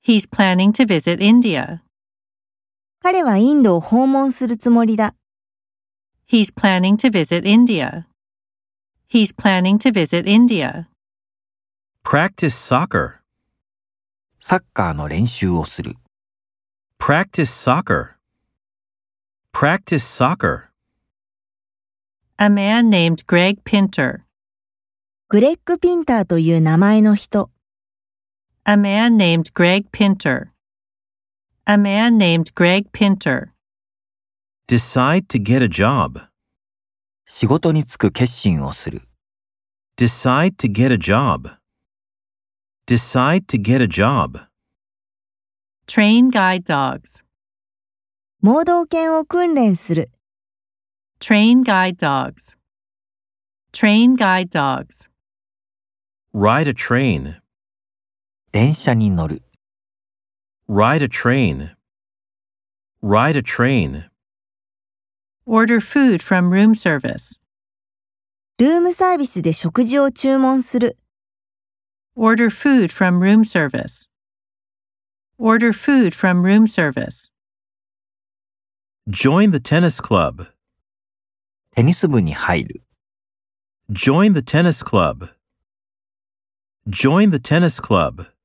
He's planning to visit India. 彼はインドを訪問するつもりだ。 He's planning to visit India. He's planning to visit India. Practice soccer. サッカーの練習をする。 Practice soccer. Practice soccer. A man named Greg Pinter. グレッグ・ピンターという名前の人。 A man named Greg Pinter. A man named Greg Pinter. Decide to get a job. 仕事に就く決心をする。 Decide to get a job. Decide to get a job. Train guide dogs. 盲導犬を訓練する。 Train guide dogs. Train guide dogs. Ride a train. 電車に乗る。 Ride a train. Ride a train. Order food from room service. ルームサービスで食事を注文する。 Order food from room service. Order food from room service. Join the tennis club. テニス部に入る。 Join the tennis club. Join the tennis club.